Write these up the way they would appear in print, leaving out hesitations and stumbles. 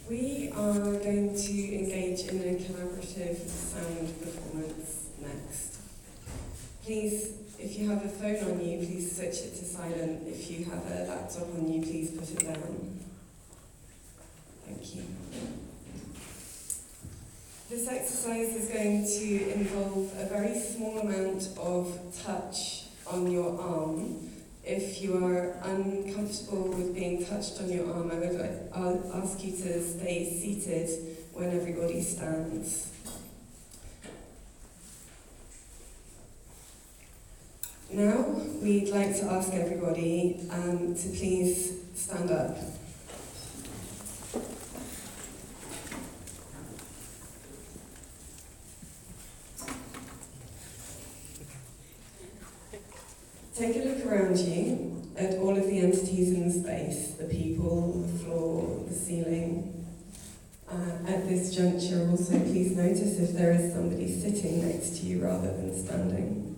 We are going to engage in a collaborative sound performance next. Please, if you have a phone on you, please switch it to silent. If you have a laptop on you, please put it down. Thank you. This exercise is going to involve a very small amount of touch on your arm. If you are uncomfortable with being touched on your arm, I'll ask you to stay seated when everybody stands. Now, we'd like to ask everybody to please stand up. Take a look around you at all of the entities in the space, the people, the floor, the ceiling. At this juncture, also please notice if there is somebody sitting next to you rather than standing.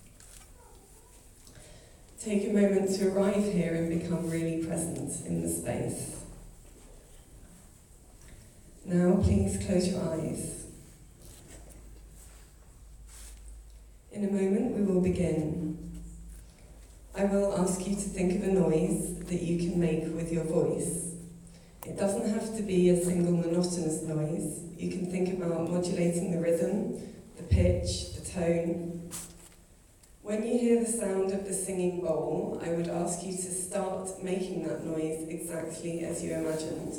Take a moment to arrive here and become really present in the space. Now please close your eyes. In a moment we will begin. I will ask you to think of a noise that you can make with your voice. It doesn't have to be a single monotonous noise. You can think about modulating the rhythm, the pitch, the tone. When you hear the sound of the singing bowl, I would ask you to start making that noise exactly as you imagined.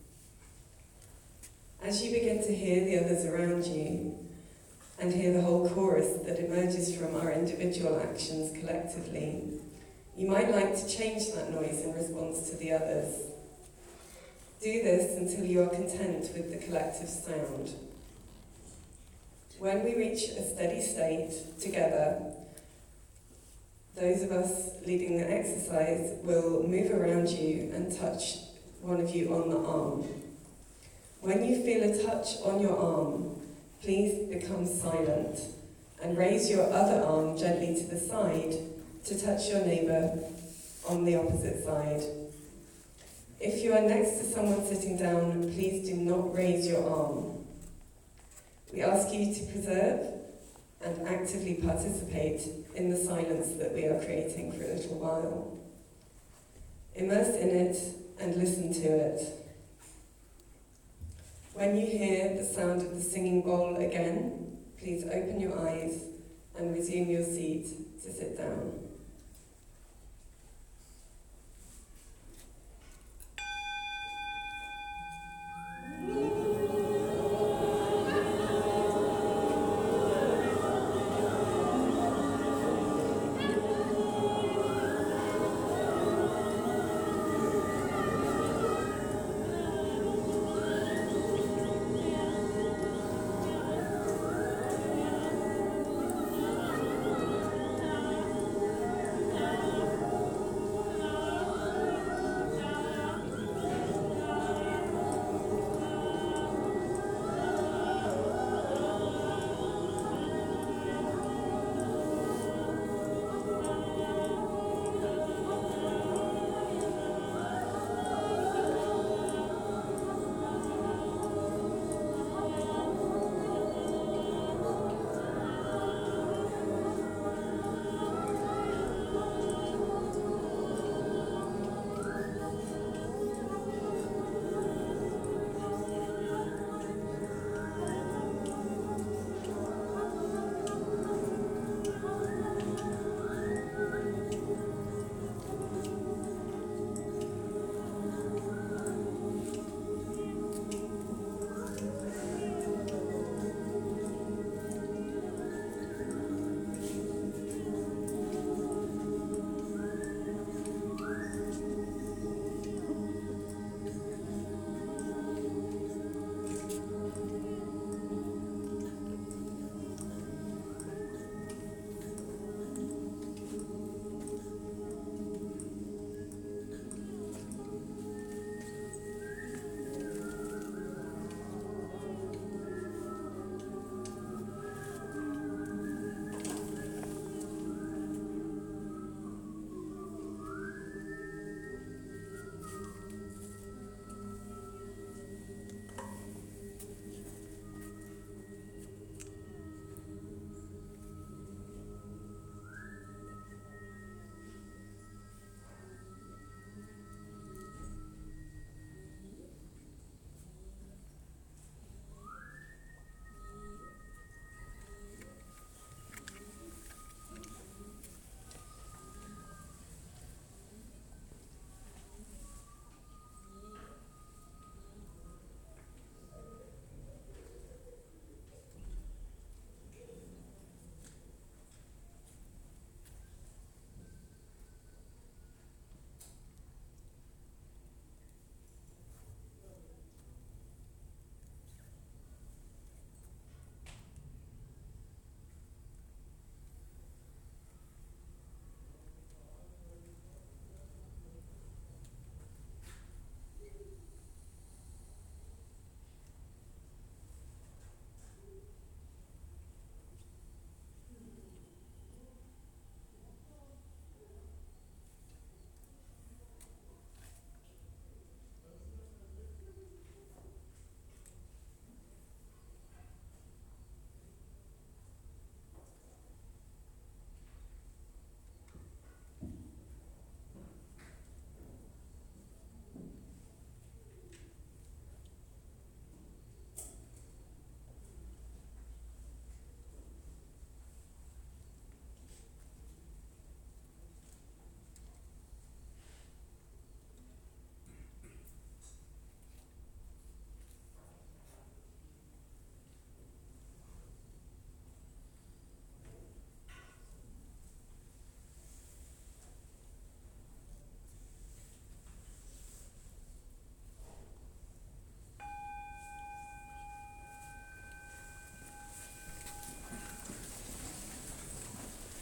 As you begin to hear the others around you, and hear the whole chorus that emerges from our individual actions collectively, you might like to change that noise in response to the others. Do this until you are content with the collective sound. When we reach a steady state together, those of us leading the exercise will move around you and touch one of you on the arm. When you feel a touch on your arm, please become silent and raise your other arm gently to the side to touch your neighbour on the opposite side. If you are next to someone sitting down, please do not raise your arm. We ask you to preserve and actively participate in the silence that we are creating for a little while. Immerse in it and listen to it. When you hear the sound of the singing bowl again, please open your eyes and resume your seat to sit down.